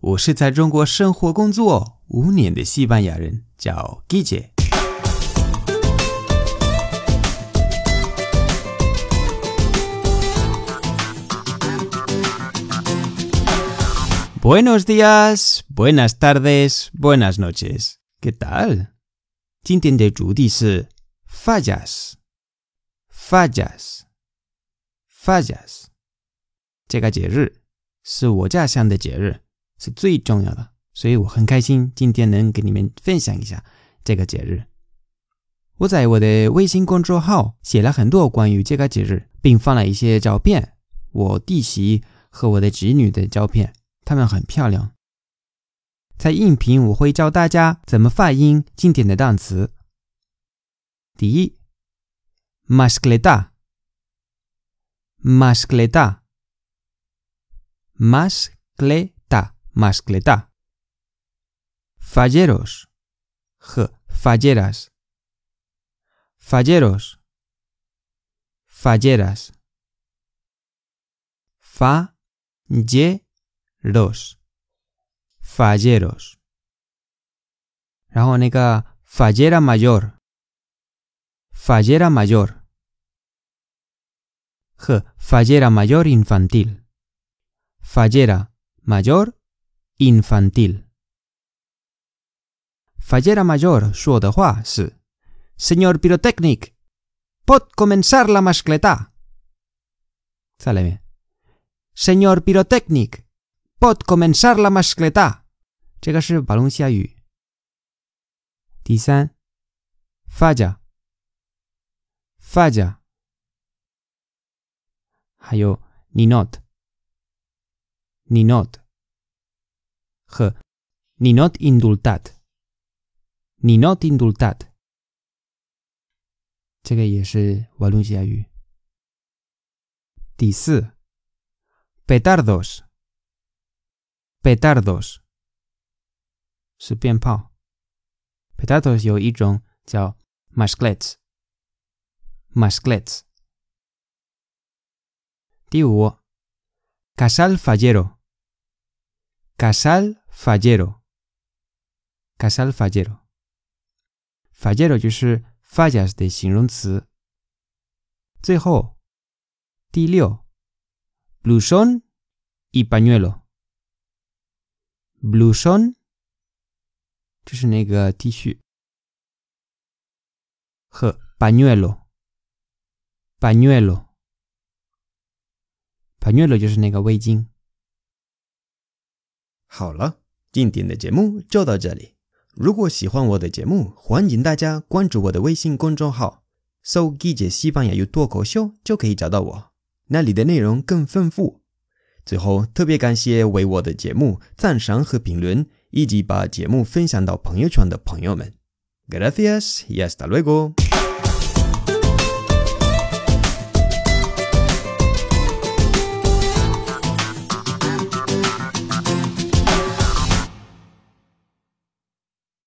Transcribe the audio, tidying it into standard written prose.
我是在中国生活工作5年的西班牙人，叫 Guille。Buenos días, buenas tardes, buenas noches. ¿Qué tal? 今天的主题是 fallas. 这个节日是我家乡的节日，是最重要的，所以我很开心今天能跟你们分享一下这个节日。我在我的微信公众号写了很多关于这个节日，并放了一些照片，我弟媳和我的侄女的照片，她们很漂亮。在音频我会教大家怎么发音今天的单词。第一 mascleta falleros 和 falleras falleros falleros 然后那个 fallera mayor 和 fallera mayor infantil fallera mayor infantil fallera mayor 说的话是 Señor Pirotecnic, pot comenzar la mascleta 再来一遍 Señor Pirotecnic, pot comenzar la mascleta 这个是巴隆西亚语。第三 falla 还有 ninot 和 ninot indultat 这个也是瓦伦西亚语。第四 petardos 是鞭炮， petardos 有一种叫 masclets 第五 casal fallero 就是 fallas 的形容词。最后第六 blusón y pañuelo 就是那个 T 恤和 pañuelo 就是那个围巾。好了，今天的节目就到这里。如果喜欢我的节目，欢迎大家关注我的微信公众号，搜 Guille 西班牙语脱口秀就可以找到我，那里的内容更丰富。最后特别感谢为我的节目赞赏和评论，以及把节目分享到朋友圈的朋友们。Gracias y hasta luego.